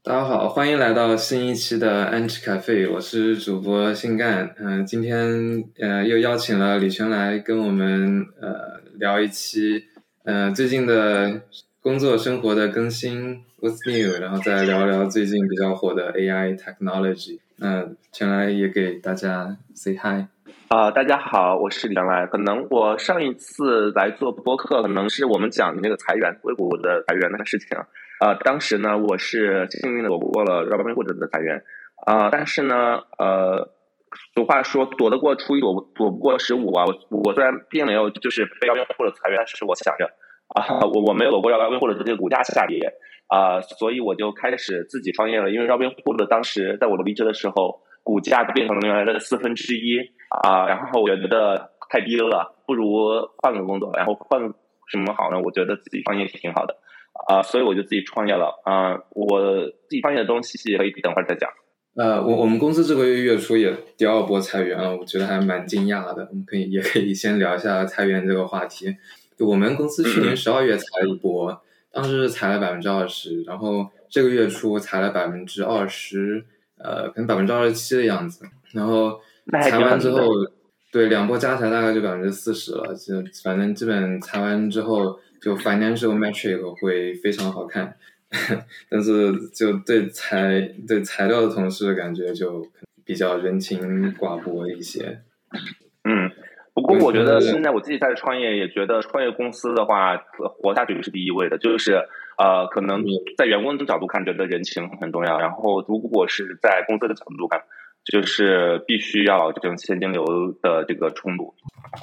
大家好，欢迎来到新一期的安琪咖啡，我是主播新干。今天又邀请了李全来跟我们聊一期最近的工作生活的更新 What's new， 然后再聊聊最近比较火的 AI technology。全来也给大家 say hi。 大家好，我是李全来。可能我上一次来做播客，可能是我们讲那个裁员，硅谷的裁员那个事情。当时呢，我是幸运的躲过了 Robinhood 的裁员。但是呢，俗话说躲得过初一，躲不过15啊。我虽然并没有就是被 Robinhood 裁员，但是我想着我没有躲过 Robinhood 的这个股价下跌所以我就开始自己创业了。因为 Robinhood 当时在我离职的时候，股价变成了原来的1/4然后我觉得太低了，不如换个工作，然后换什么好呢？我觉得自己创业挺好的所以我就自己创业了我自己创业的东西可以等会儿再讲。 我们公司这个月初也第二波裁员了，我觉得还蛮惊讶的。我们也可以先聊一下裁员这个话题。我们公司去年12月裁了一波，当时裁了20%，然后这个月初裁了20%，可能27%的样子。然后裁完之后，对2波加起来大概就40%了。就反正基本裁完之后，就 financial metric 会非常好看。但是就对裁掉的同事感觉就比较人情寡薄一些。 不过我觉得现在我自己在创业，也觉得创业公司的话活下去是第一位的，就是可能在员工的角度看觉得人情很重要，然后如果是在公司的角度看，就是必须要这种现金流的这个冲突。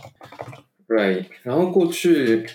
Right， 然后过去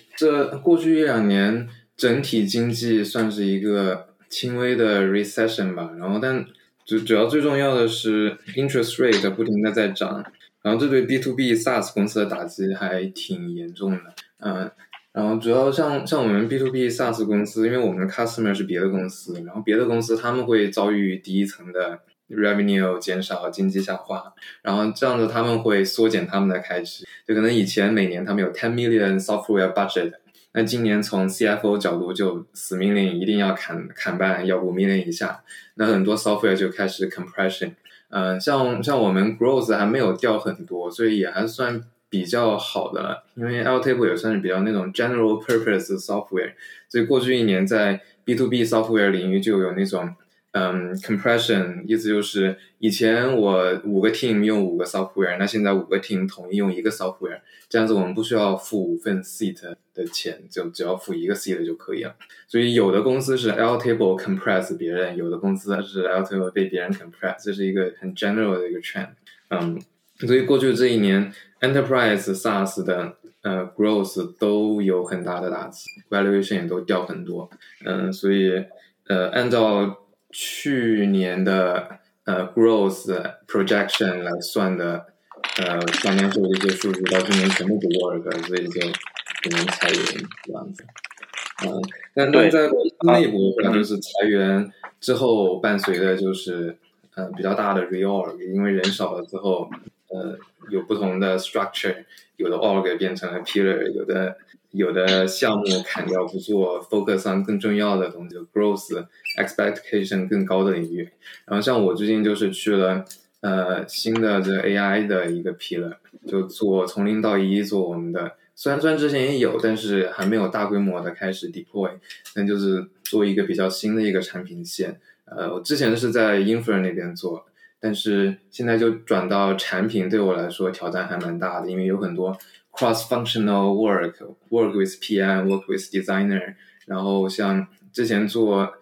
1-2年整体经济算是一个轻微的 recession 吧，然后但主要最重要的是 interest rate 不停的在涨，然后这对 B2B SaaS 公司的打击还挺严重的。然后主要像我们 B2B SaaS 公司，因为我们的 customer 是别的公司，然后别的公司他们会遭遇第一层的 revenue 减少，经济下滑，然后这样子他们会缩减他们的开支，就可能以前每年他们有10 million software budget， 那今年从 CFO 角度就死命令一定要砍半，要5 million 以下，那很多 software 就开始 compression。像我们 growth 还没有掉很多，所以也还算比较好的了，因为 Airtable 也算是比较那种 general purpose software， 所以过去1年在 B2B software 领域就有那种compression， 意思就是以前我5个 team 用5个 software， 那现在5个 team 统一用1个 software， 这样子我们不需要付5份 seat 的钱，就只要付1个 seat 就可以了。所以有的公司是 Airtable compress 别人，有的公司是 Airtable 被别人 compress， 这是一个很 general 的一个 trend。所以过去这1年 Enterprise SaaS 的growth 都有很大的打击， valuation 也都掉很多。所以按照去年的growth projection 来算的financial 的一些数据，到今年全部不 work， 所以就只能裁员这样子。但在公司内部的话，就是裁员之后伴随的就是比较大的 reorg， 因为人少了之后有不同的 structure， 有的 org 变成了 pillar， 有的项目砍掉不做 focus on 更重要的东西， growth expectation 更高的领域。然后像我最近就是去了新的这个 AI 的一个 pillar， 就做从0到1做我们的，虽然之前也有，但是还没有大规模的开始 deploy， 但就是做一个比较新的一个产品线。我之前是在 Infra 那边做，但是现在就转到产品，对我来说挑战还蛮大的，因为有很多 cross-functional work with PM work with designer， 然后像之前做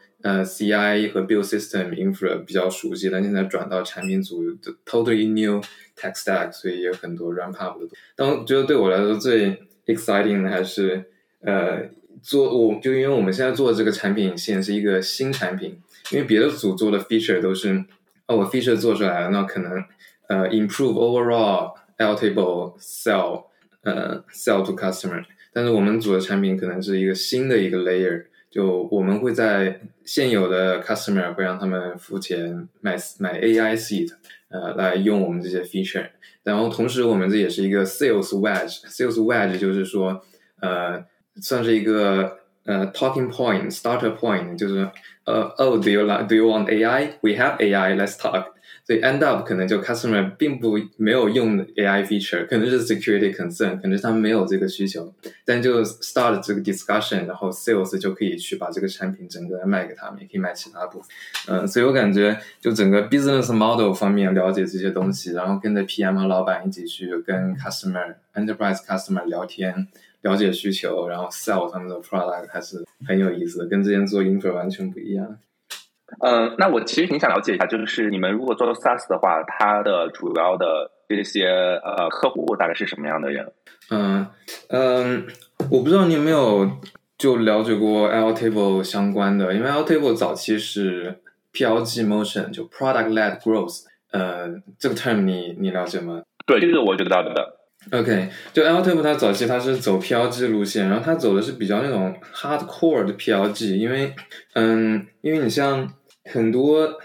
CI 和 build system infra 比较熟悉，但现在转到产品组 totally new tech stack， 所以有很多 ramp up 的。但我觉得对我来说最 exciting 的还是就因为我们现在做的这个产品线是一个新产品，因为别的组做的 feature 都是我 feature 做出来了，那可能improve overall Airtable sell to customer， 但是我们组的产品可能是一个新的一个 layer， 就我们会在现有的 customer 会让他们付钱买 AI seat 来用我们这些 feature， 然后同时我们这也是一个 sales wedge 就是说算是一个talking point starter point， 就是 oh do you want AI? We have AI, let's talk. 所以 end up 可能就 customer 并没有用 AI feature， 可能是 security concern， 可能是他们没有这个需求，但就 start 这个 discussion， 然后 sales 就可以去把这个产品整个卖给他们，也可以卖其他部分。所以我感觉就整个 business model 方面了解这些东西，然后跟着 PM 和老板一起去跟 enterprise customer 聊天，了解需求，然后 sell 他们的 product 还是很有意思的，跟之前做 info 完全不一样。 那我其实挺想了解一下，就是你们如果做 SaaS 的话，它的主要的这些客户大概是什么样的人？ 我不知道你有没有就了解过 Airtable 相关的，因为 Airtable 早期是 PLG motion， 就 product led growth， 这个 term 你了解吗？ 对，这个我知道的。 OK， 就 Airtable 它早期它是走 PLG 路线，然后它走的是比较那种 hardcore 的 PLG， 因为你像很多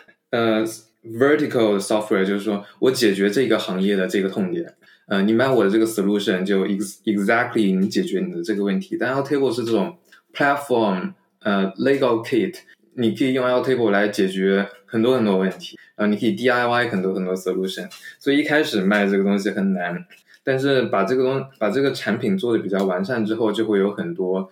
vertical software， 就是说我解决这个行业的这个痛点，你买我的这个 solution 就 exactly 你解决你的这个问题，但 Airtable 是这种 platform Lego kit， 你可以用 Airtable 来解决很多很多问题，你可以 DIY 很多很多 solution， 所以一开始卖这个东西很难。但是把这个产品做的比较完善之后，就会有很多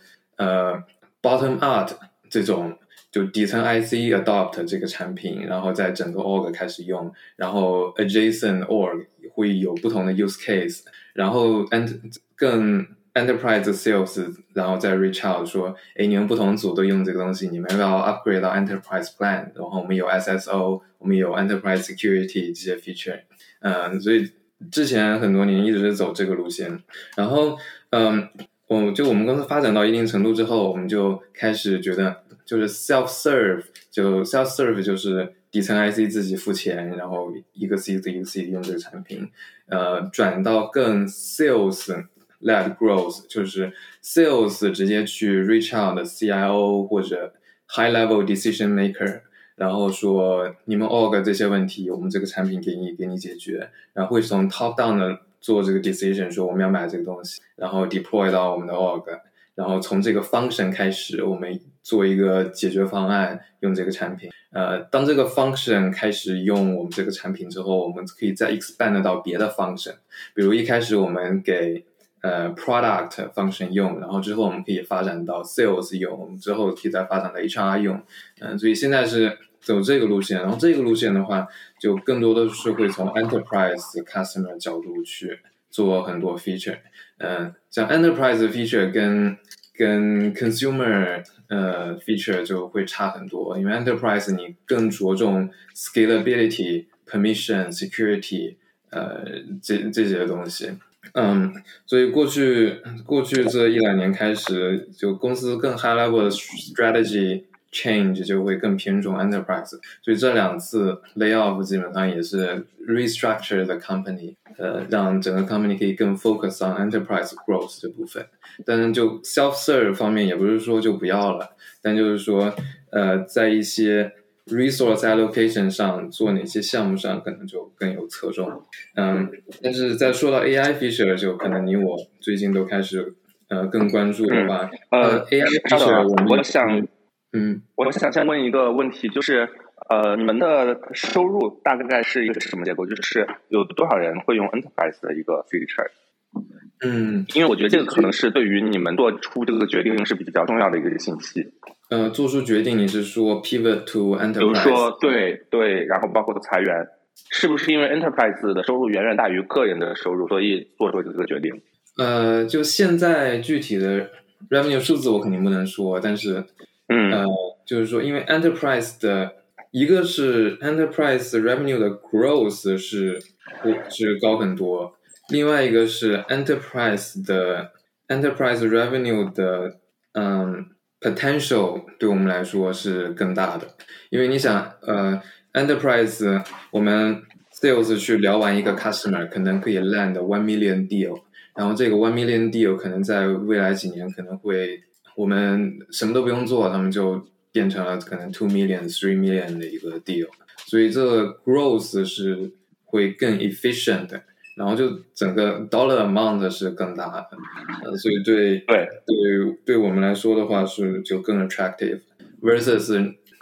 bottom up 这种就底层 IC adopt 这个产品，然后在整个 org 开始用，然后 adjacent org 会有不同的 use case， 然后更 enterprise sales， 然后再 reach out 说，你们不同组都用这个东西，你们要不要 upgrade 到 enterprise plan， 然后我们有 SSO， 我们有 enterprise security 这些 feature， 所以之前很多年一直是走这个路线，然后我们公司发展到一定程度之后，我们就开始觉得就是 self serve 就是底层 IC 自己付钱，然后一个 C 一个 C 用这个产品，转到更 sales led growth， 就是 sales 直接去 reach out 的 CIO 或者 high level decision maker，然后说你们 org 这些问题，我们这个产品给你解决，然后会从 top down 的做这个 decision， 说我们要买这个东西，然后 deploy 到我们的 org， 然后从这个 function 开始，我们做一个解决方案，用这个产品。当这个 function 开始用我们这个产品之后，我们可以再 expand 到别的 function， 比如一开始我们给product function 用，然后之后我们可以发展到 sales 用，我们之后可以再发展到 HR 用，所以现在是走这个路线，然后这个路线的话，就更多的是会从 enterprise customer 角度去做很多 feature，像 enterprise feature 跟 consumer feature 就会差很多，因为 enterprise 你更着重 scalability、permission、security 这些东西。所以过去这一两年开始，就公司更 high level 的 strategy change 就会更偏重 enterprise， 所以这两次 layoff 基本上也是 restructure the company， 让整个 company 可以更 focus on enterprise growth 这部分。但是就 self-serve 方面也不是说就不要了，但就是说在一些 resource allocation 上做哪些项目上可能就更有侧重。但是在说到 AI feature， 就可能你我最近都开始更关注的话，AI feature 我想先问一个问题，就是你们的收入大概是一个什么结构？就是有多少人会用 enterprise 的一个 feature？因为我觉得这个可能是对于你们做出这个决定是比较重要的一个信息。 做出决定，你是说 pivot to enterprise？ 比如说对，然后包括裁员，是不是因为 enterprise 的收入远远大于个人的收入，所以做出这个决定？ 就现在具体的 revenue 数字我肯定不能说，但是就是说，因为 enterprise 的一个是 enterprise revenue 的 growth 是高很多，另外一个是 enterprise revenue 的potential 对我们来说是更大的，因为你想enterprise 我们 sales 去聊完一个 customer 可能可以 land 1 million deal， 然后这个1 million deal 可能在未来几年可能会我们什么都不用做，他们就变成了可能2 million、3 million 的一个 deal， 所以这个 growth 是会更 efficient 的，然后就整个 dollar amount 是更大的，所以对我们来说的话是就更 attractive versus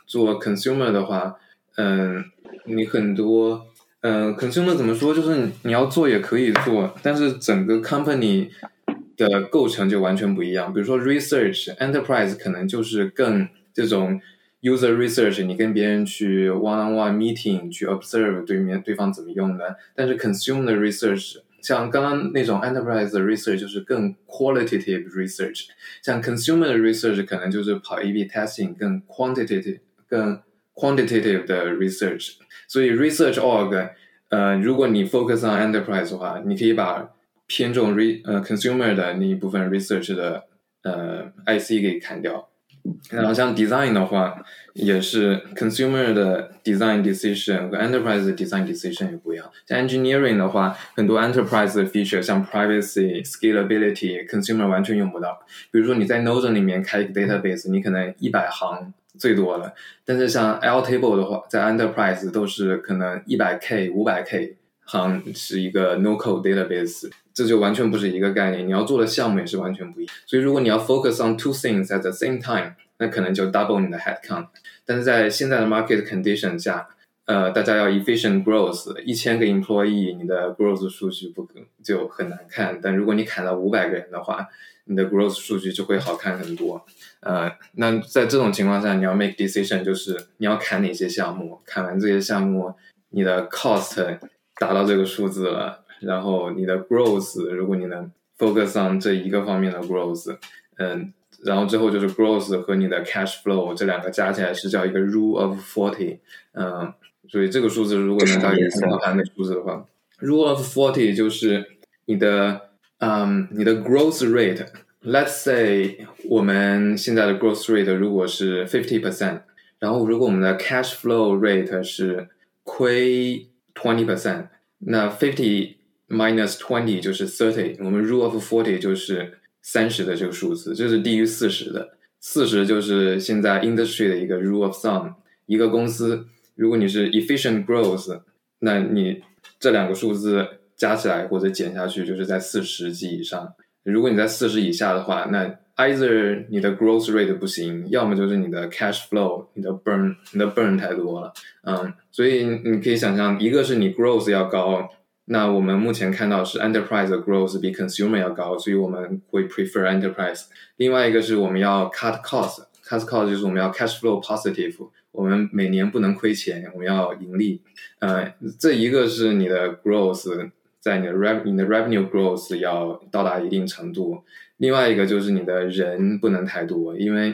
做 consumer 的话，你很多consumer 怎么说，就是你要做也可以做，但是整个 company 的构成就完全不一样。比如说 research enterprise 可能就是更这种 user research， 你跟别人去 one-on-one meeting 去 observe 对方怎么用的，但是 consumer research 像刚刚那种 enterprise research 就是更 qualitative research， 像 consumer research 可能就是跑 A/B testing 更 quantitative 的 research。 所以 research org 如果你 focus on enterprise 的话，你可以把偏重consumer 的那一部分 research 的IC 给砍掉。然后像 design 的话，也是 consumer 的 design decision 和 enterprise 的 design decision 也不一样。像 engineering 的话，很多 enterprise 的 feature 像 privacy、scalability，consumer 完全用不到。比如说你在 Node 里面开一个 database， 你可能100行最多了，但是像 Airtable 的话，在 enterprise 都是可能100K、500K 行是一个 no-code database， 这就完全不是一个概念，你要做的项目也是完全不一样。所以如果你要 focus on two things at the same time， 那可能就 double 你的 headcount。 但是在现在的 market condition 下，大家要 efficient growth， 1000个 employee， 你的 growth 数据就很难看，但如果你砍到500个人的话，你的 growth 数据就会好看很多。那在这种情况下，你要 make decision， 就是你要砍哪些项目，砍完这些项目，你的 cost 达到这个数字了，然后你的 growth， 如果你能 focus on 这一个方面的 growth， 然后之后就是 growth 和你的 cash flow 这两个加起来是叫一个 rule of 40， 所以这个数字如果能到一个很好看的数字的话， rule of 40就是你的 growth rate。Let's say 我们现在的 growth rate 如果是 50%， 然后如果我们的 cash flow rate 是亏 20%， 那50 minus 20就是 30， 我们 rule of 40就是30的这个数字，这是低于40的。40就是现在 industry 的一个 rule of thumb， 一个公司如果你是 efficient growth， 那你这两个数字加起来或者减下去就是在40及以上。如果你在40以下的话，那 either 你的 growth rate 不行，要么就是你的 cash flow 你的 burn 太多了。所以你可以想象，一个是你 growth 要高，那我们目前看到是 enterprise 的 growth 比 consumer 要高，所以我们会 prefer enterprise。 另外一个是我们要 cut cost 就是我们要 cash flow positive， 我们每年不能亏钱，我们要盈利。这一个是你的 growth，在你的 revenue growth 要到达一定程度，另外一个就是你的人不能太多，因为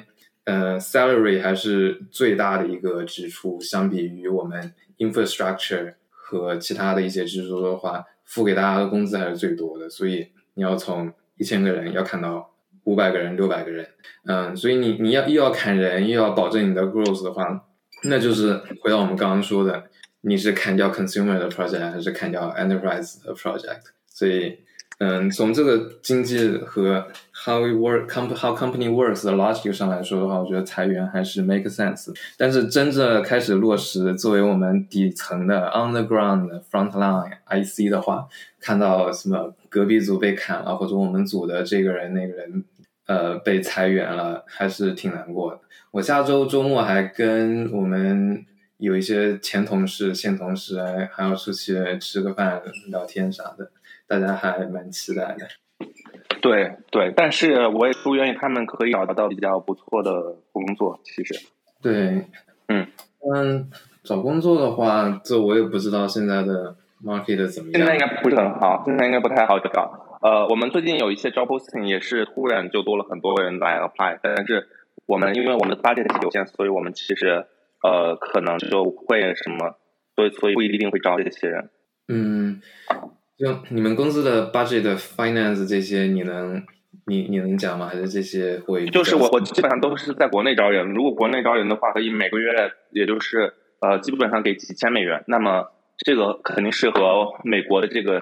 salary 还是最大的一个支出，相比于我们 infrastructure 和其他的一些支出的话，付给大家的工资还是最多的，所以你要从1000个人要砍到500个人、600个人。所以你又要砍人，又要保证你的 growth 的话，那就是回到我们刚刚说的，你是砍掉 consumer 的 project 还是砍掉 enterprise 的 project。 所以从这个经济和 how company works 的 logic 上来说的话，我觉得裁员还是 make sense。 但是真正开始落实作为我们底层的 on the ground frontline IC 的话，看到什么隔壁组被砍了，或者我们组的这个人那个人被裁员了，还是挺难过的。我下周周末还跟我们有一些前同事、现同事还要出去吃个饭、聊天啥的，大家还蛮期待的。 对，但是我也祝愿他们可以找到比较不错的工作。其实， 对，找工作的话，这我也不知道现在的 market 怎么样。 现在应该不是很好，现在应该不太好找。我们最近有一些 job posting 也是突然就多了很多人来 apply， 但是因为我们的 budget 有限，所以我们其实可能就会什么，所以不一定会招这些人。 就你们公司的 budget finance 这些你能讲吗？还是这些会就是我基本上都是在国内招人，如果国内招人的话，可以每个月也就是基本上给几千美元，那么这个肯定是和美国的这个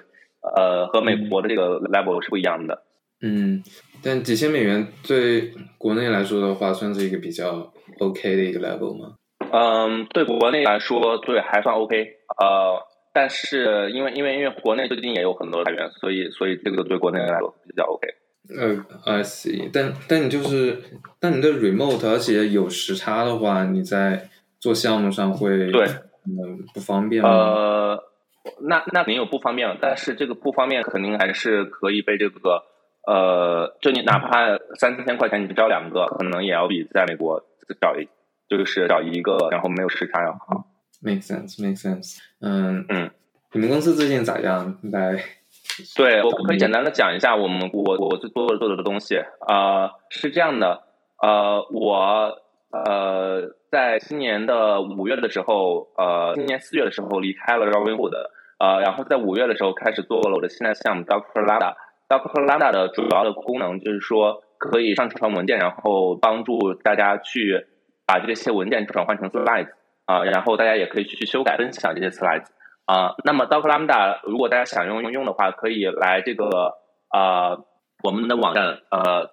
level 是不一样的。 但几千美元对国内来说的话，算是一个比较 OK 的一个 level 吗？ 对国内来说，对还算 OK。但是因为国内最近也有很多裁员，所以这个对国内来说比较 OK。 I see。但你的 remote， 而且有时差的话，你在做项目上会对不方便吗？ 那肯定有不方便了，但是这个不方便肯定还是可以被这个就你哪怕3,000块钱你招2个，可能也要比在美国找一个然后没有时差要好。 Make sense。你们公司最近咋样？ 对，我可以简单的讲一下我最多做的东西。是这样的，我在今年的5月的时候，今年4月的时候离开了 Robinhood，然后在5月的时候开始做了我的新的项目 Dr. Lambda。Dr. Lambda 的主要的功能就是说可以上传文件，然后帮助大家去把这些文件转换成 slides，然后大家也可以去修改分享这些 slides。那么 Dr. Lambda 如果大家想用的话，可以来这个我们的网站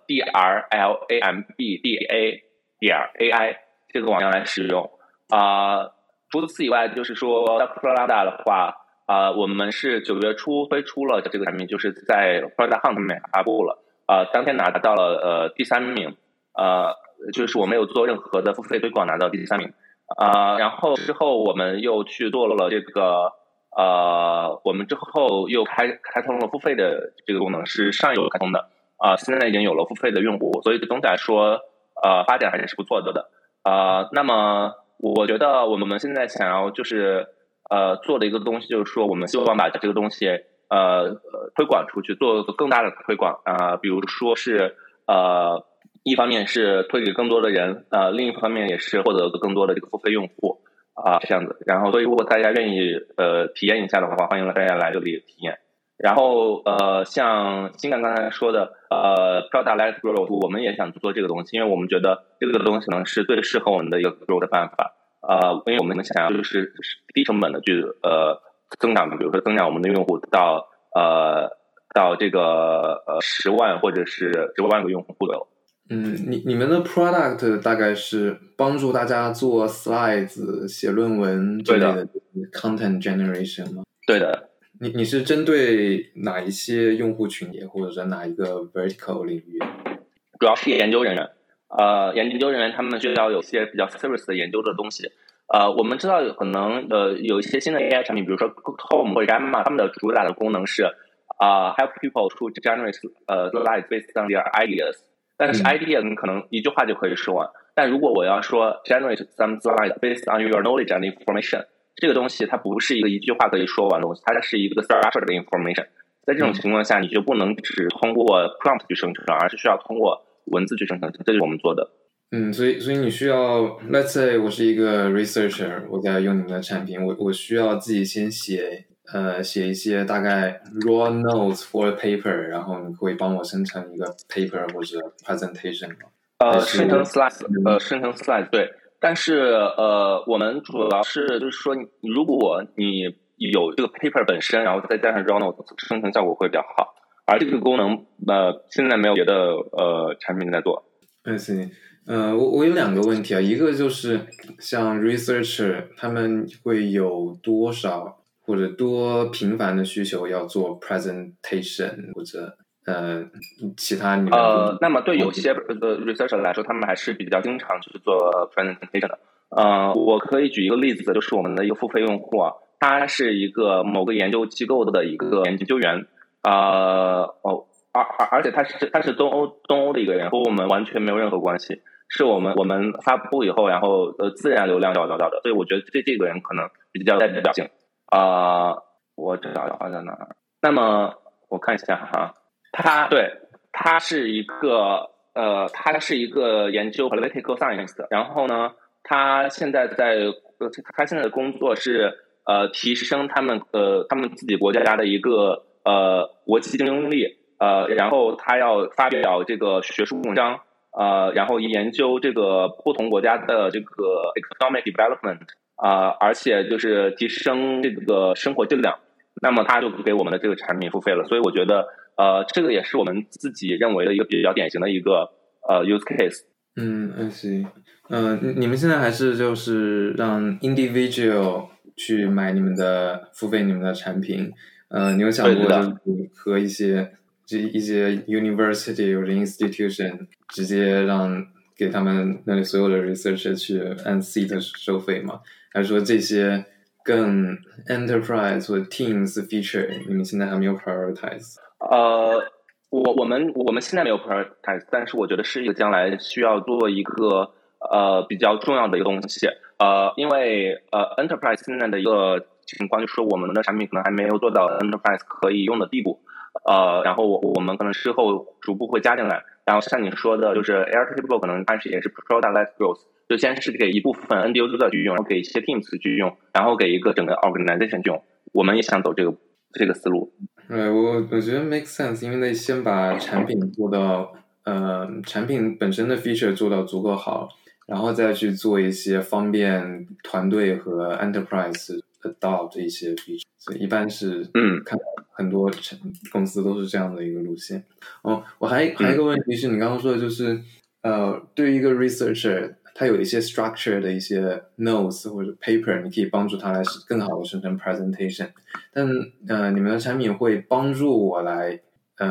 drlambda.ai 这个网站来使用。除此以外，就是说 Dr. Lambda 的话，我们是9月初推出了这个产品，就是在 Product Hunt 上面发布了，当天拿到了第3名，就是我没有做任何的付费推广，拿到第3名。然后之后我们又去做了这个我们之后又开通了付费的这个功能，是上游开通的，现在已经有了付费的用户，所以总体来说发展还是不错的。那么我觉得我们现在想要就是做的一个东西，就是说我们希望把这个东西推广出去，做更大的推广。比如说是一方面是推给更多的人，另一方面也是获得更多的这个付费用户，这样子。然后所以如果大家愿意体验一下的话，欢迎大家来这里体验。然后像新干刚才说的Product-led growth， 我们也想做这个东西，因为我们觉得这个东西可能是最适合我们的一个 grow 的办法。因为我们想要就是低成本的去增长，比如说增长我们的用户到这个10万或者是10万个用户左右。 你们的 product 大概是帮助大家做 slides、写论文之类的 content generation 吗？ 对的。 你是针对哪一些用户群体，或者是哪一个 vertical 领域？ 主要是研究人员。研究人员他们需要有些比较 serious 的研究的东西。我们知道可能有一些新的 AI 产品，比如说 Tom 或者 Gamma， 他们的主打的功能是help people to generate slides based on their ideas。但是 idea 你可能一句话就可以说完，但如果我要说 generate some slides based on your knowledge and information， 这个东西它不是一句话可以说完的东西，它是一个 structured information。在这种情况下，你就不能只通过 prompt 去生成，而是需要通过文字去生成，这就是我们做的。 所以你需要 let's say 我是一个 researcher， 我在用你们的产品，我需要自己先写一些大概 raw notes for a paper， 然后你会帮我生成一个 paper 或者 presentation 吗？ 生成 slides 对。但是我们主要是就是说，如果你有这个 paper 本身，然后再加上 raw notes， 生成效果会比较好。而这个功能现在没有别的产品在做。 I see。我有2个问题啊，一个就是像 researcher 他们会有多少或者多频繁的需求要做 presentation 或者其他你们那么对有些researcher 来说，他们还是比较经常去做 presentation 的。我可以举一个例子，就是我们的一个付费用户啊，他是一个某个研究机构的一个研究员，而且他是东欧的一个人，和我们完全没有任何关系，是我们发布以后，然后自然流量找到的，所以我觉得这个人可能比较代表性。我找的话在哪儿？那么我看一下哈，他是一个研究 political science 的，然后呢，他现在的工作是提升他们自己国家的一个国际竞争力。然后他要发表这个学术文章，然后研究这个不同国家的这个 economic development，而且就是提升这个生活质量。那么他就给我们的这个产品付费了，所以我觉得这个也是我们自己认为的一个比较典型的一个use case。 I see。你们现在还是就是让 individual 去买付费你们的产品？你有想过就是和一些 university 或者 institution 直接给他们那里所有的 researcher 去按 seat 收费吗？还是说这些更 enterprise 或者 teams feature 你们现在还没有 prioritize？ 我们现在没有 prioritize， 但是我觉得是一个将来需要做一个比较重要的一个东西。因为enterprise 现在的一个情况就是我们的产品可能还没有做到 enterprise 可以用的地步。然后我们可能之后逐步会加进来。然后像你说的，就是 Airtable 可能开始也是 product-led growth， 就先是给一部分 end user 去用，然后给一些 teams 去用，然后给一个整个 organization 去用。我们也想走这个思路。 我觉得 make sense， 因为得先把产品做到产品本身的 feature 做到足够好，然后再去做一些方便团队和 enterprise adopt 一些 feature， 所以一般是看很多公司都是这样的一个路线。我还有一个问题是你刚刚说的就是对于一个 researcher， 他有一些 structure 的一些 notes 或者 paper， 你可以帮助他来更好的生成 presentation， 但你们的产品会帮助我来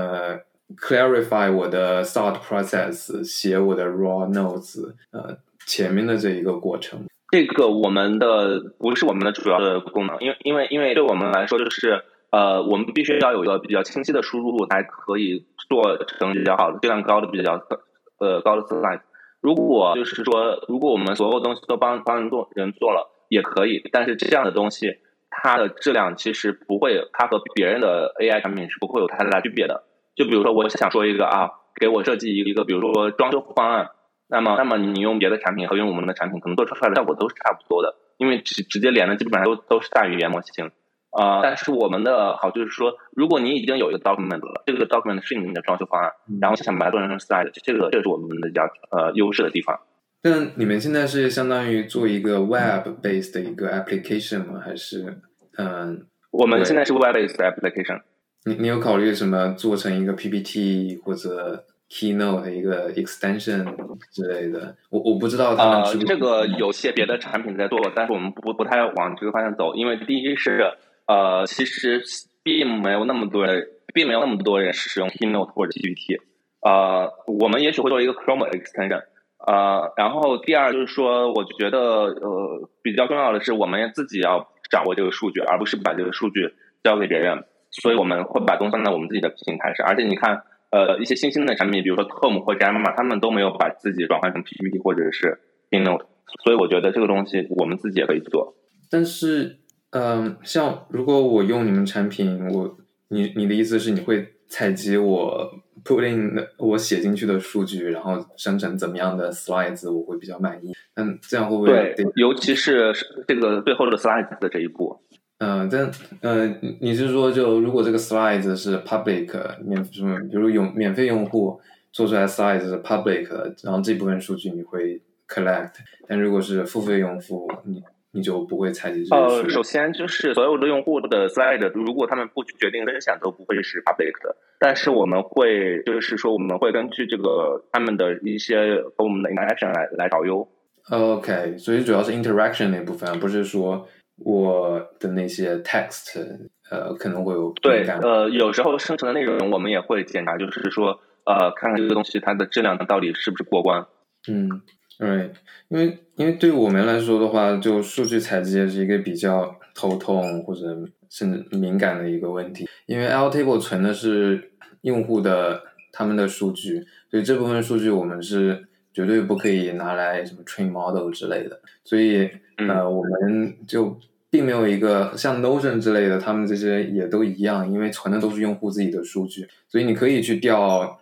clarify 我的 thought process， 写我的 raw notes， 前面的这一个过程。 这个不是我们的主要的功能，因为对我们来说就是我们必须要有一个比较清晰的输入，才可以做成比较好的质量高的比较高的 slide。如果我们所有东西都帮人做了也可以，但是这样的东西它的质量其实不会，它和别人的 AI 产品是不会有太大区别的。就比如说我想说一个给我设计一个比如说装修方案，那么你用别的产品和用我们的产品可能做出来的效果都是差不多的，因为直接连的基本上都是大语言模型。但是我们的好就是说，如果你已经有一个 document 了，这个 document 是你的装修方案，然后想把它做成 slide，这是我们的比较优势的地方。 但你们现在是相当于做一个 web based 的一个 application 吗？还是我们现在是 web based application。 你有考虑什么做成一个 PPT 或者 Keynote 的一个 extension 之类的？我不知道他们这个有些别的产品在做，但是我们不太往这个方向走，因为第一是其实并没有那么多人使用 Keynote 或者 PPT。我们也许会做一个 Chrome extension。然后第二就是说，我觉得比较重要的是我们自己要掌握这个数据，而不是把这个数据交给别人。所以我们会把东西放在我们自己的平台上，而且你看一些新兴的产品，比如说 Tom 或者 Gamma， 他们都没有把自己转换成 PPT 或者是 Keynote， 所以我觉得这个东西我们自己也可以做。 但是像如果我用你们产品，你的意思是你会采集我 put in 我写进去的数据，然后生成怎么样的 slides 我会比较满意？这样会不会？ 对，尤其是这个最后的 slides 的这一步。 但你是说就如果这个 slides 是 public 比如免费用户做出来 slides 是 public， 然后这部分数据你会 collect， 但如果是付费用户，你就不会采集这些数据。 首先就是所有的用户的 slide， 如果他们不决定分享，都不会是 public 的。但是我们会根据这个他们的一些和我们的 interaction 来导优。 OK， 所以主要是 interaction 那部分，不是说我的那些 text 可能会有对有时候生成的内容我们也会检查，就是说看看这个东西它的质量到底是不是过关。 对，因为对我们来说的话，就数据采集也是一个比较头痛或者甚至敏感的一个问题，因为 Airtable 存的是用户的他们的数据，所以这部分数据我们是绝对不可以拿来什么 train model 之类的，所以我们就并没有一个像 Notion 之类的，他们这些也都一样，因为存的都是用户自己的数据，所以你可以去调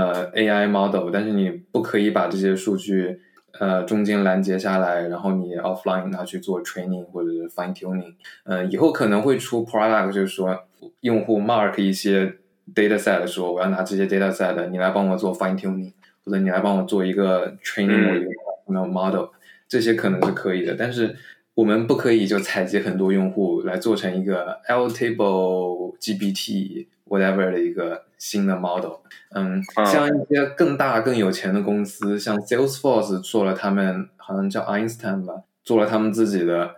AI model， 但是你不可以把这些数据中间拦截下来，然后你 offline 拿去做 training 或者是 fine tuning。以后可能会出 product， 就是说用户 mark 一些 data set 说我要拿这些 data set， 你来帮我做 fine tuning， 或者你来帮我做一个 training 或者一个 model， 这些可能是可以的，但是我们不可以就采集很多用户来做成一个 Airtable GPT whatever 的一个新的 model。像一些更大更有钱的公司，像 Salesforce 做了他们好像叫 Einstein 吧，做了他们自己的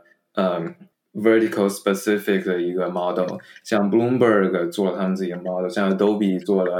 vertical specific 的一个 model， 像 Bloomberg 做了他们自己的 model， 像 Adobe 做了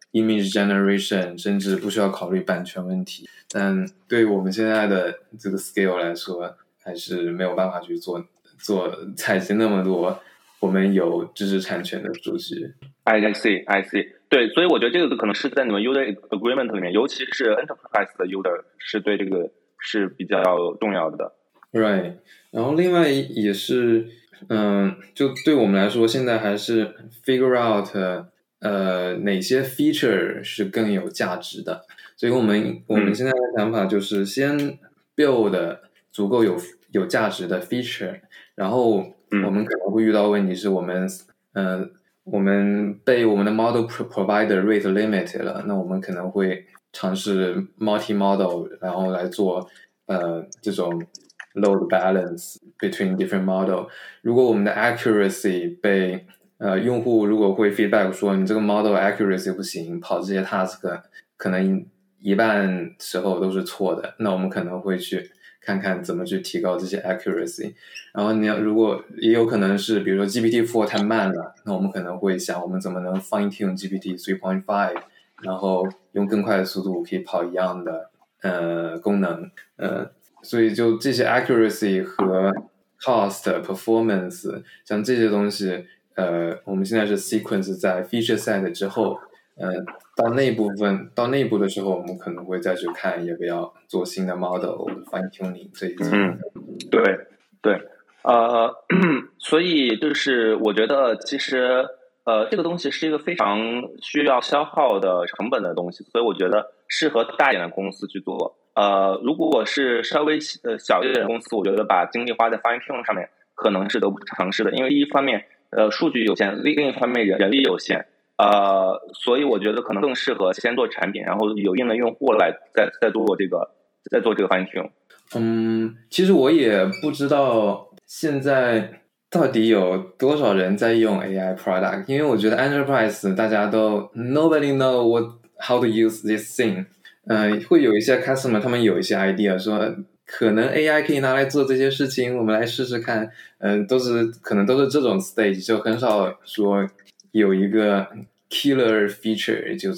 image generation， 甚至不需要考虑版权问题。但对于我们现在的这个 scale 来说，还是没有办法去做采集那么多我们有知识产权的数据。 I see. 对，所以我觉得这个可能是在你们 user agreement 里面，尤其是 enterprise 的 user 是对这个是比较重要的。 Right， 然后另外也是，就对我们来说，现在还是 figure out 哪些 feature 是更有价值的。所以我们现在的想法就是先 build 足够有价值的 feature， 然后我们可能会遇到问题是我们被我们的 model provider rate limit 了，那我们可能会尝试 multi model， 然后来做这种 load balance between different model。 如果我们的 accuracy 被用户如果会 feedback 说你这个 model accuracy 不行，跑这些 task 可能一半时候都是错的，那我们可能会去看看怎么去提高这些 accuracy。 然后如果也有可能是比如说 GPT-4 太慢了，那我们可能会想我们怎么能 fine tune GPT 3.5， 然后用更快的速度可以跑一样的功能。所以就这些 accuracy 和 cost performance 像这些东西我们现在是 sequence 在 feature set 之后，到那一步的时候，我们可能会再去看要不要做新的 model fine tuning 这一些。 对，所以就是我觉得其实这个东西是一个非常需要消耗的成本的东西，所以我觉得适合大一点的公司去做。如果是稍微小一点的公司，我觉得把精力花在 fine tune 上面可能是得不偿失的，因为一方面数据有限，另一方面人力有限。所以我觉得可能更适合先做产品，然后有硬的用户来再做这个 fine tune。 其实我也不知道现在到底有多少人在用 AI product， 因为我觉得 enterprise 大家都 nobody know how to use this thing。会有一些 customer 他们有一些 idea 说可能 AI 可以拿来做这些事情，我们来试试看。可能都是这种 stage， 就很少说有一个 killer feature， 就是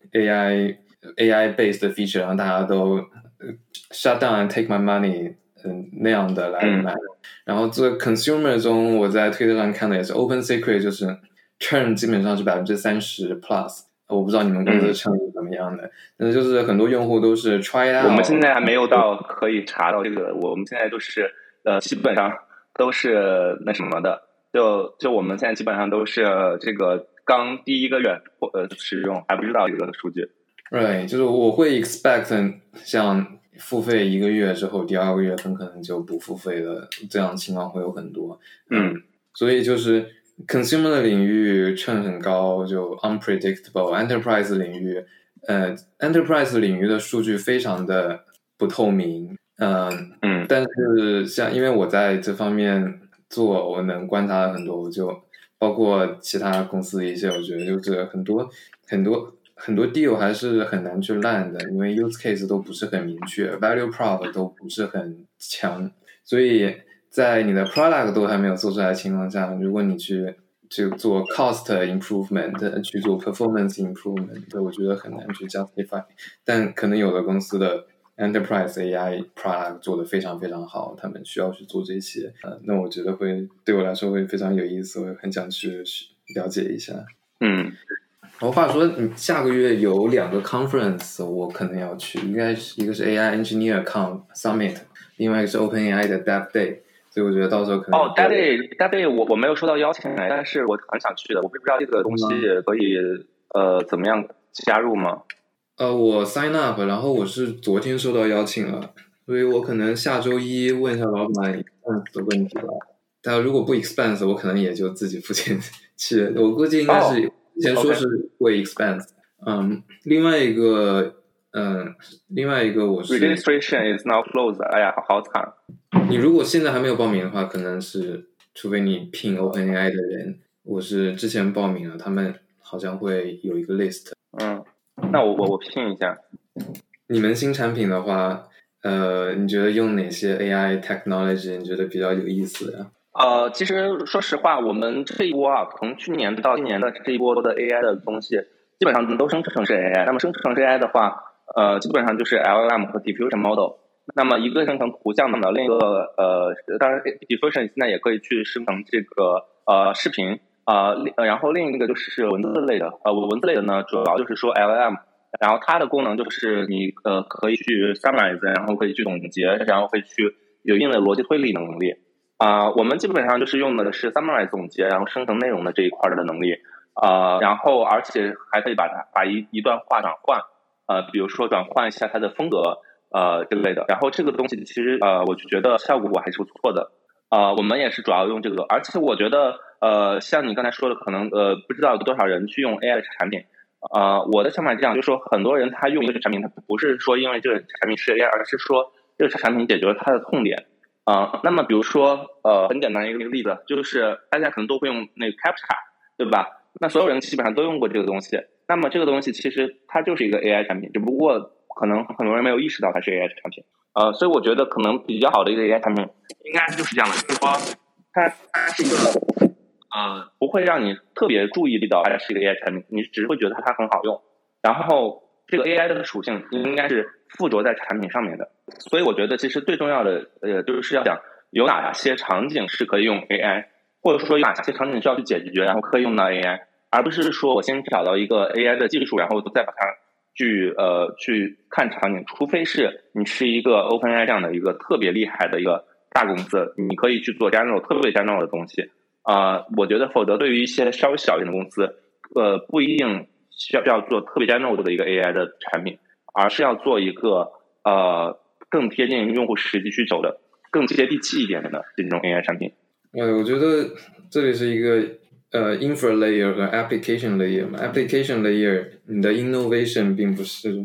AI based feature， 然后大家都shut down and take my money， 那样的来买。然后这个 consumer 中，我在推特上看的也是 open secret， 就是 churn 基本上是 30% plus。我不知道你们公司的 churn 是怎么样的，但是就是很多用户都是 try out。 我们现在还没有到可以查到这个，我们现在都是基本上都是那什么的，就我们现在基本上都是这个刚第一个月使用，还不知道这个数据。 对，就是我会 expect 像付费1个月之后，第2个月很可能就不付费的，这样的情况会有很多。所以就是 consumer 的领域 churn 很高，就 unpredictable。 enterprise 领域的数据非常的不透明。但是像因为我在这方面做，我能观察很多，就包括其他公司的一些，我觉得就是很多 deal 还是很难去烂的，因为 use case 都不是很明确， value prop 都不是很强，所以在你的 product 都还没有做出来的情况下，如果你去做 cost improvement， 去做 performance improvement， 我觉得很难去 justify。 但可能有的公司的 enterprise AI product 做得非常非常好，他们需要去做这些。那我觉得对我来说会非常有意思，我很想去了解一下。我话说你下个月有2个 conference 我可能要去，一个是 AI Engineer Summit， 另外一个是 OpenAI 的 Dev Day， 所以我觉得到时候可能 Dev Day 我没有收到邀请，但是我很想去的，我不知道这个东西可以怎么样加入吗？ 我 sign up， 然后我是昨天收到邀请了，所以我可能下周一问一下老板的问题吧。但如果不 expense， 我可能也就自己付钱去，我估计应该是之前说是会 expense。另外一个我是 registration is now closed。哎呀，好惨！ 你如果现在还没有报名的话，可能是除非你聘 OpenAI 的人，我是之前报名了，他们好像会有一个 list。 那我聘一下。 你们新产品的话，你觉得用哪些 AI technology 你觉得比较有意思的？ 其实说实话，我们这一波从去年到今年的这一波的 AI 的东西， 基本上都生成式 AI。那么生成式 AI 的话，基本上就是 LLM 和 diffusion model。那么一个生成图像的，另一个当然 diffusion 现在也可以去生成这个视频然后另一个就是文字类的。文字类的呢，主要就是说 LLM， 然后它的功能就是你可以去 summarize， 然后可以去总结，然后可以去有一定的逻辑推理能力。我们基本上就是用的是 summarize 总结，然后生成内容的这一块的能力。然后而且还可以把一段话转换，比如说转换一下它的风格之类的。然后这个东西其实我就觉得效果还是不错的。我们也是主要用这个，而且我觉得像你刚才说的，可能不知道有多少人去用 AI 的产品。我的想法是这样，就是说很多人他用一个产品，他不是说因为这个产品是 AI，而是说这个产品解决了他的痛点。那么比如说很简单的一个例子，就是大家可能都会用那个 CAPTCHA， 对吧？那所有人基本上都用过这个东西。那么这个东西其实它就是一个 AI 产品，只不过可能很多人没有意识到它是 AI 产品。所以我觉得可能比较好的一个 AI 产品应该就是这样的，就是说它是一个不会让你特别注意到它是一个 AI 产品，你只是会觉得它很好用。然后这个 AI 的属性应该是附着在产品上面的。所以我觉得其实最重要的就是要讲有哪些场景是可以用 AI， 或者说有哪些场景需要去解决，然后可以用到 AI， 而不是说我先找到一个 AI 的技术，然后再把它去看场景。除非是你是一个 OpenAI 这样的一个特别厉害的一个大公司，你可以去做 general 特别 general 的东西。我觉得否则对于一些稍微小一点的公司，不一定需要做特别 general 的一个 AI 的产品，而是要做一个更贴近用户实际需求的、更接地气一点的这种 AI 产品。 我觉得这里是一个infra layer 和 application layer 嘛。application layer 你的 innovation 并不是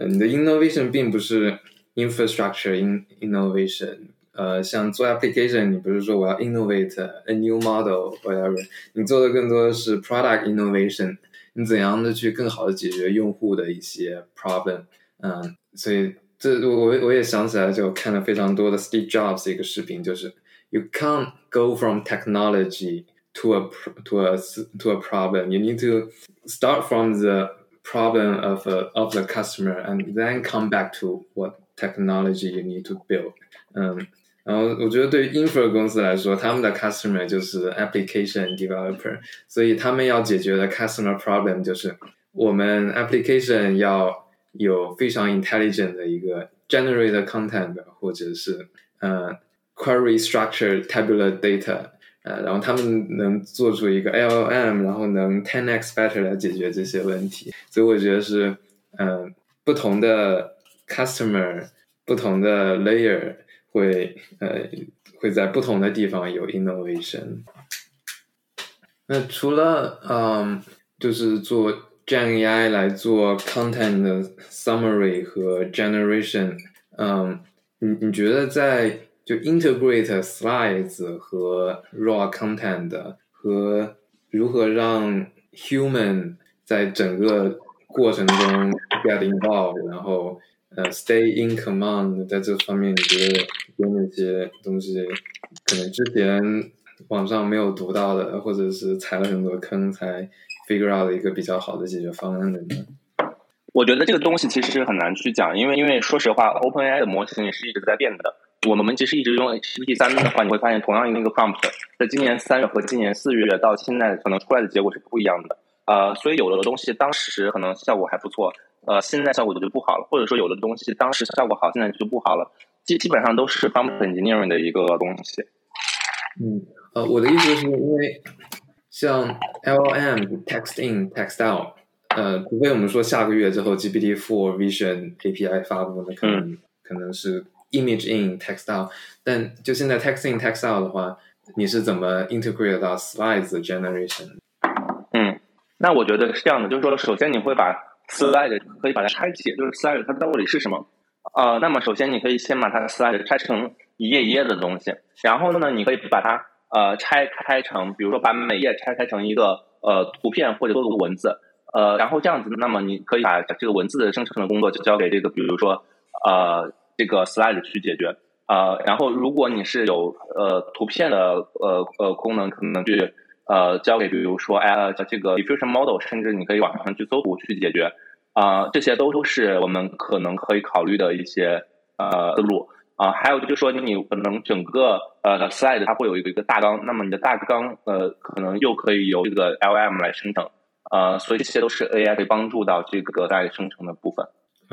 infrastructure innovation。像做 application 你不是说我要 innovate a new model whatever， 你做的更多的是 product innovation， 你怎样的去更好的解决用户的一些 problem。所以我也想起来，就看了非常多的 Steve Jobs 一个视频，就是 you can't go from technology to a problem. You need to start from the problem of the customer and then come back to what technology you need to build. 然后我觉得对于 infra 公司来说，他们的 customer 就是 application developer， 所以他们要解决的 customer problem 就是我们 application 要有非常 intelligent 的一个 generate content， 或者是query structure tabular data， 然后他们能做出一个 LLM， 然后能 10x better 来解决这些问题。所以我觉得是不同的 customer 不同的 layer会在不同的地方有 innovation。 那除了就是做 Gen AI 来做 content 的 summary 和 generation， 你觉得在就 integrate slides 和 raw content 和如何让 human 在整个过程中 get involved， 然后stay in command， 在这方面你觉得有哪些东西可能之前网上没有读到的，或者是踩了很多坑才 figure out 一个比较好的解决方案的呢？ 我觉得这个东西其实很难去讲，因为说实话 OpenAI 的模型也是一直在变的。我们其实一直用 GPT-3 的话，你会发现同样的一个 prompt 在今年3月和今年4月到现在可能出来的结果是不一样的。所以有的东西当时可能效果还不错，现在效果就不好了，或者说有的东西当时效果好，现在就不好了。基本上都是 prompt engineering 的一个东西。 我的意思是因为像 LLM text in text out，除非我们说下个月之后 GPT-4 Vision API 发布，那可能是 image in text out， 但就现在 text in text out 的话，你是怎么 integrate 到 slides generation？ 那我觉得是这样的，就是说首先你会把 slide 可以把它拆解，就是 slide 它到底是什么。那么首先你可以先把它的 slide 拆成一页一页的东西，然后呢你可以把它拆开成，比如说把每页拆开成一个图片或者多个文字，然后这样子，那么你可以把这个文字的生成的工作就交给这个比如说这个 slide 去解决。然后如果你是有图片的功能，可能去交给比如说这个 diffusion model， 甚至你可以网上去搜图去解决这些都是我们可能可以考虑的一些思路还有就是说你可能整个slide 它会有一个大纲，那么你的大纲可能又可以由这个 LM 来生成所以这些都是 AI 可以帮助到这个在生成的部分。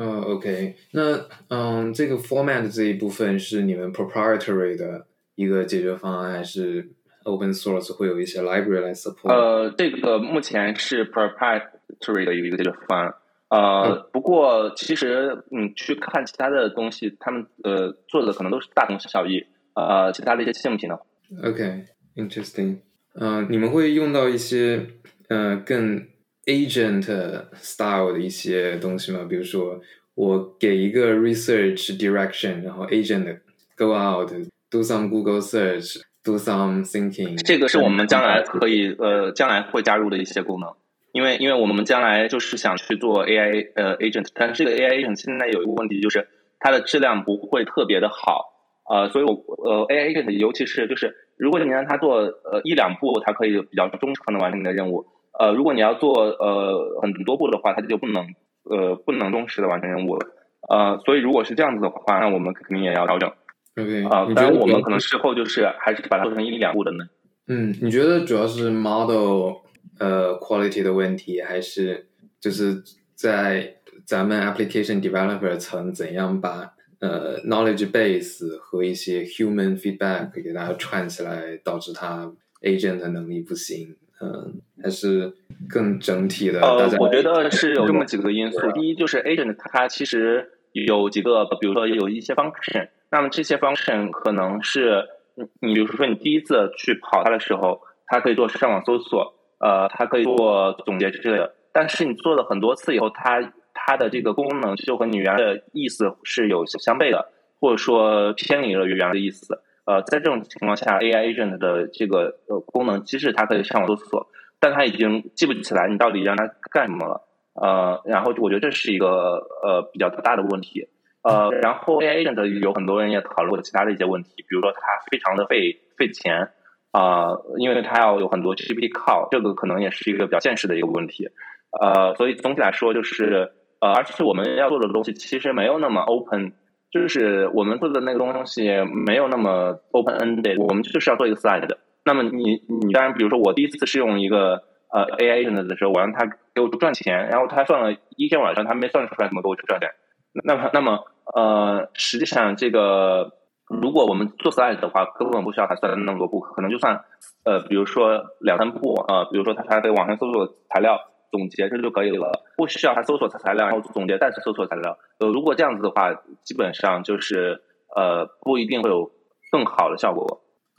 OK， 那这个 format 这一部分是你们 proprietary 的一个解决方案，还是 open source 会有一些 library 来 support？ 这个目前是 proprietary 的一个解决方案。不过其实你去看其他的东西，他们做的可能都是大同小异。其他的一些竞品的。 OK，interesting。你们会用到一些更 agent style 的一些东西吗？比如说我给一个 research direction， 然后 agent go out do some Google search do some thinking。 这个是我们将来可以将来会加入的一些功能。因为我们将来就是想去做 AI agent， 但是这个 AI agent 现在有一个问题，就是它的质量不会特别的好所以AI agent 尤其是就是如果你让它做1-2步，它可以比较忠诚的完成你的任务。如果你要做很多步的话，它就不能忠实的完成任务了。所以如果是这样子的话，那我们肯定也要调整。当然我们可能事后就是还是把它做成1-2步的呢。 你觉得主要是 model quality 的问题，还是就是在咱们 application developer 层怎样把knowledge base 和一些 human feedback 给大家串起来，导致它 agent 的能力不行？还是更整体的大家我觉得是有这么几个因素。第一就是 agent 它其实有几个，比如说有一些 function， 那么这些 function 可能是你比如说你第一次去跑它的时候，它可以做上网搜索它可以做总结之类的，但是你做了很多次以后，它的这个功能就和你原来的意思是有相悖的，或者说偏离了原来的意思。在这种情况下 AI agent 的这个功能机制它可以上网搜索，但它已经记不起来你到底让它干什么了。然后我觉得这是一个比较大的问题。然后 AI agent 有很多人也讨论过其他的一些问题，比如说它非常的费钱因为它要有很多 GPT call， 这个可能也是一个比较现实的一个问题。所以总体来说就是而且我们要做的东西其实没有那么 open， 就是我们做的那个东西没有那么 open ended， 我们就是要做一个 slide 的。那么你当然比如说我第一次试用一个AI agent 的时候，我让他给我赚钱，然后他算了一天晚上他没算出来怎么给我赚钱。那么实际上这个如果我们做 slide 的话，根本不需要他算那么多步，可能就算比如说2-3步比如说他在网上搜索材料总结这就可以了，不需要他搜索材料然后总结再次搜索材料。如果这样子的话，基本上就是不一定会有更好的效果。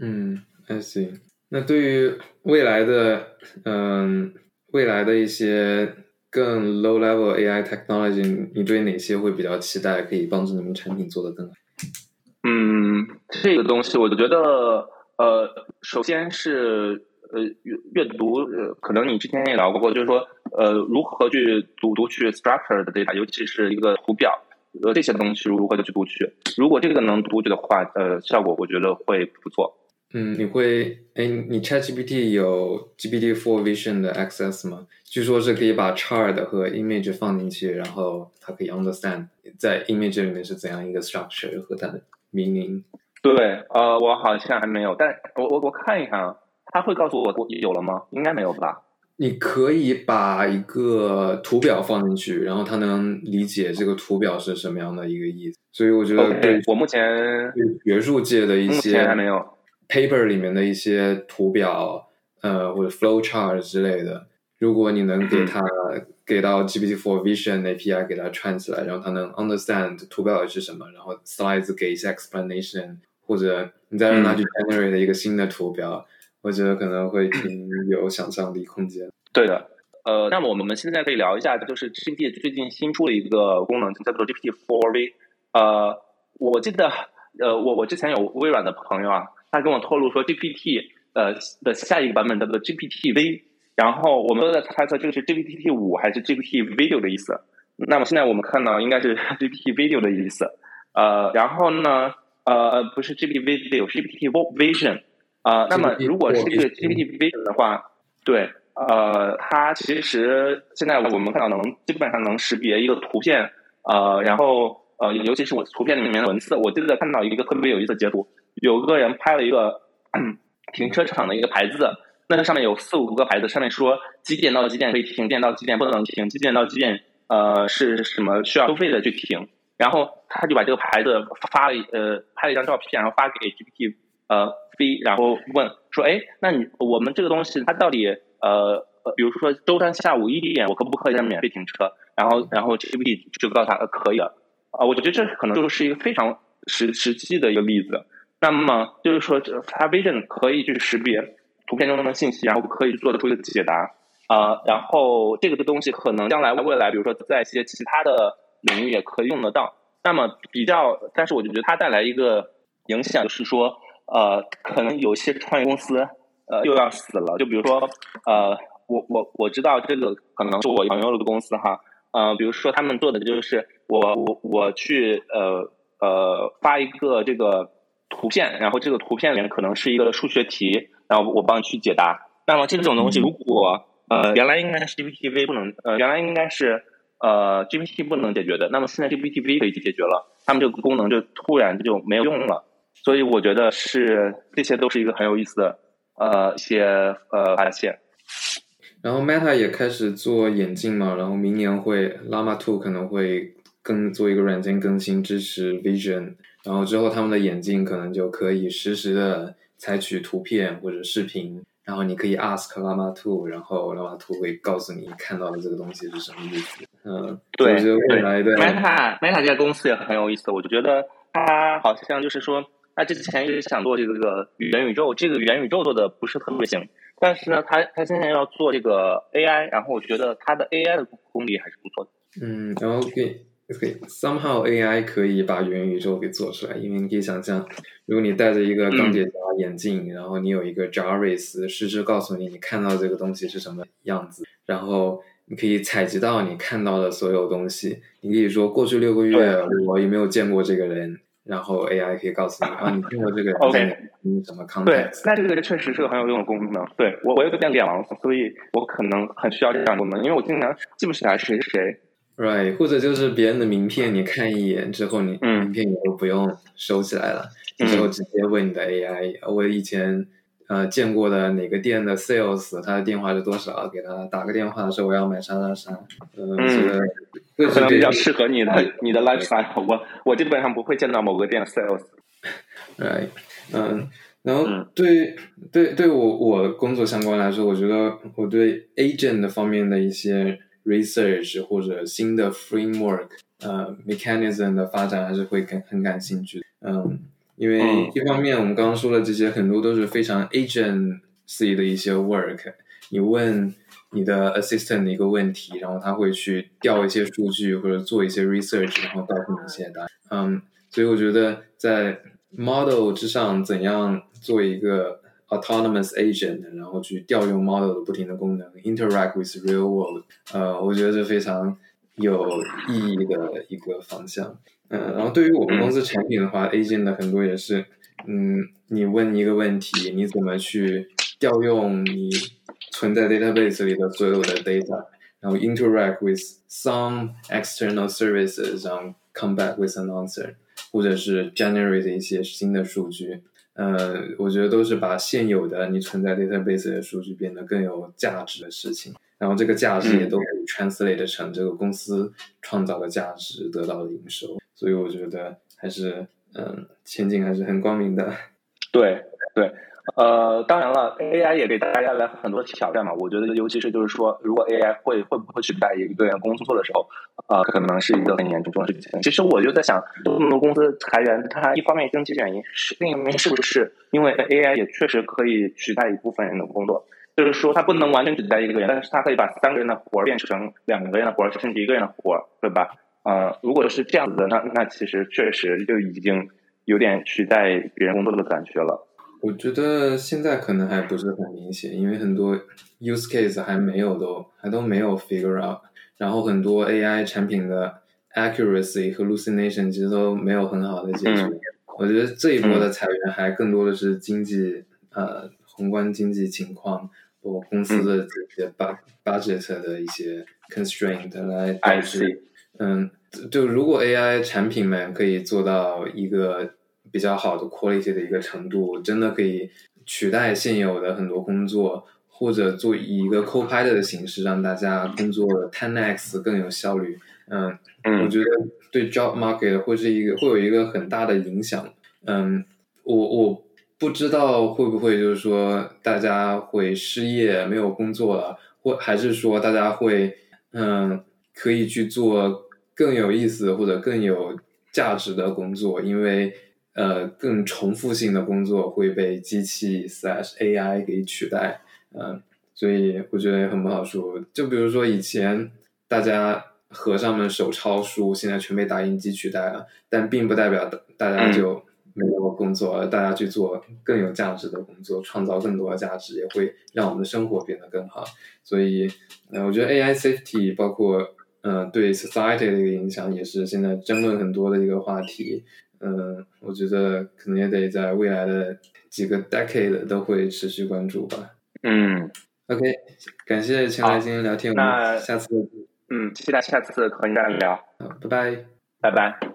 I see。 那对于未来的一些更 low level AI technology， 你对哪些会比较期待，可以帮助你们产品做得更好？ 这个东西我觉得首先是阅读可能你之前也聊过，就是说如何去读取 structure 的 data， 尤其是一个图表这些东西如何去读取，如果这个能读取的话效果我觉得会不错。 你 ChatGPT 有 GPT-4 Vision 的 access 吗？据说是可以把 chart 和 image 放进去，然后它可以 understand 在 image 里面是怎样一个 structure 和它的 meaning。 对我好像还没有，但我看一看它会告诉我有了吗？应该没有吧。 你可以把一个图表放进去，然后它能理解这个图表是什么样的一个意思。所以我觉得对我目前学术界的一些目前还没有 paper 里面的一些图表或者 flow chart 之类的，如果你能给到 GPT-4 Vision API 给它串起来，然后它能 understand 图表是什么，然后 slides 给一些 explanation， 或者你再让它去 generate 一个新的图表，我觉得可能会挺有想象力空间。 对的。那么我们现在可以聊一下，就是 GPT 最近新出了一个功能叫做 GPT-4V。我记得我之前有微软的朋友他跟我透露说 GPT 的下一个版本叫做 GPT-V， 然后我们都在猜测这个是 GPT-5 还是 GPT-Video 的意思。那么现在我们看到应该是 GPT-Video 的意思。然后呢不是 GPT-Video 是 GPT-Vision。 那么如果是这个 GPT Vision 的话，对，它其实现在我们看到基本上能识别一个图片，然后尤其是我图片里面的文字，我记得看到一个特别有意思的截图，有个人拍了一个停车场的一个牌子，那上面有4-5个牌子，上面说几点到几点可以停，几点到几点不能停，几点到几点是什么需要收费的去停，然后他就把这个牌子拍了一张照片，然后发给 GPT V， 然后问说，哎，那我们这个东西它到底比如说周三下午1点我可不可以免费停车？然后 GPT 就告诉他可以了。我觉得这可能就是一个非常实际的一个例子。那么就是说，它 Vision 可以去识别图片中的信息，然后可以做得出一个解答。然后这个的东西可能将来未来，比如说在一些其他的领域也可以用得到。那么但是我就觉得它带来一个影响，就是说，可能有些创业公司又要死了。就比如说，我知道这个可能是我朋友的公司哈，比如说他们做的就是我去发一个这个图片，然后这个图片里面可能是一个数学题，然后我帮你去解答。那么这种东西如果原来应该是 GPT-V 不能原来应该是GPT 不能解决的，那么现在 GPT-V 可以解决了，他们这个功能就突然就没有用了。所以我觉得这些都是一个很有意思的一些发现。 然后 Meta 也开始做眼镜嘛，然后明年Llama 2可能会做一个软件更新支持 Vision， 然后之后他们的眼镜可能就可以实时的采取图片或者视频，然后你可以 ask Llama 2， 然后 Llama 2会告诉你看到的这个东西是什么意思。 对， 未来的 Meta 这家公司也很有意思，我就觉得它好像就是说，他之前一直想做这个元宇宙，这个元宇宙做的不是特别行，但是呢，他现在要做这个 AI， 然后我觉得他的 AI 的功力还是不错的。 然后somehow AI 可以把元宇宙给做出来，因为你可以想象，如果你戴着一个钢铁侠眼镜，然后你有一个 Jarvis 实时告诉你看到这个东西是什么样子，然后你可以采集到你看到的所有东西，你可以说过去6个月我有没有见过这个人，然后 AI 可以告诉你你见过这个人 ，OK， 什么 context。 对，那这个确实是个很有用的功能。对，我有点脸盲，所以我可能很需要这样的功能，因为我经常记不起来谁是谁。 Right， 或者就是别人的名片，你看一眼之后，你名片以后不用收起来了，之后直接问你的 AI，我以前见过的哪个店的 sales， 他的电话是多少，给他打个电话说我要买啥啥啥， 可能比较适合你的 lifestyle。我基本上不会见到某个店的 sales。 Right，然后对我工作相关来说，我觉得我对 agent 的方面的一些research 或者新的 framework mechanism 的发展还是会很感兴趣的。因为一方面我们刚刚说的这些很多都是非常 agency 的一些 work， 你问你的 assistant 的一个问题，然后他会去调一些数据或者做一些 research， 然后告诉你一些答案。所以我觉得在 model 之上怎样做一个 autonomous agent， 然后去调用 model 的不停的功能 interact with real world， 我觉得是非常有意义的一个方向。然后对于我们公司产品的话 agent 的很多也是你问一个问题，你怎么去调用你存在 database 里的所有的 data， 然后 interact with some external services， 然后 come back with an answer， 或者是 generate 一些新的数据。我觉得都是把现有的你存在 database 的数据变得更有价值的事情，然后这个价值也都可以 translate 成这个公司创造的价值得到的营收，所以我觉得还是前景还是很光明的。 对，当然了 AI 也给大家带来很多挑战嘛，我觉得尤其是就是说如果 AI 会不会取代一个人工作的时候，可能是一个很严重的事情。其实我就在想，这么多公司裁员，它一方面经济原因，另一方面是不是因为 AI 也确实可以取代一部分人的工作，就是说它不能完全取代一个人，但是它可以把3个人的活变成2个人的活，甚至1个人的活，对吧？如果是这样子的，那其实确实就已经有点取代别人工作的感觉了。 我觉得现在可能还不是很明显，因为很多 use case 还都没有 figure out， 然后很多 AI 产品的 accuracy 和 hallucination 其实都没有很好的解决。我觉得这一波的裁员还更多的是经济宏观经济情况，包括公司的这些budget 的一些 constraint 来导致，就如果 AI 产品们可以做到一个比较好的 quality 的一个程度，真的可以取代现有的很多工作，或者以一个 co-pilot 的形式让大家工作 10x 更有效率。我觉得对 job market 会有一个很大的影响。我不知道会不会就是说大家会失业没有工作了，还是说大家会可以去做更有意思或者更有价值的工作，因为更重复性的工作会被机器 /AI 给取代。所以我觉得也很不好说。就比如说以前大家和尚们手抄书，现在全被打印机取代了，但并不代表大家就没有工作了，大家去做更有价值的工作，创造更多的价值，也会让我们的生活变得更好。所以我觉得 AI safety 包括对 society 的一个影响也是现在争论很多的一个话题。我觉得可能也得在未来的几个 decade 都会持续关注吧。OK， 感谢前来今天聊天，我们下次期待下次和你再聊。 好，拜拜， 拜拜。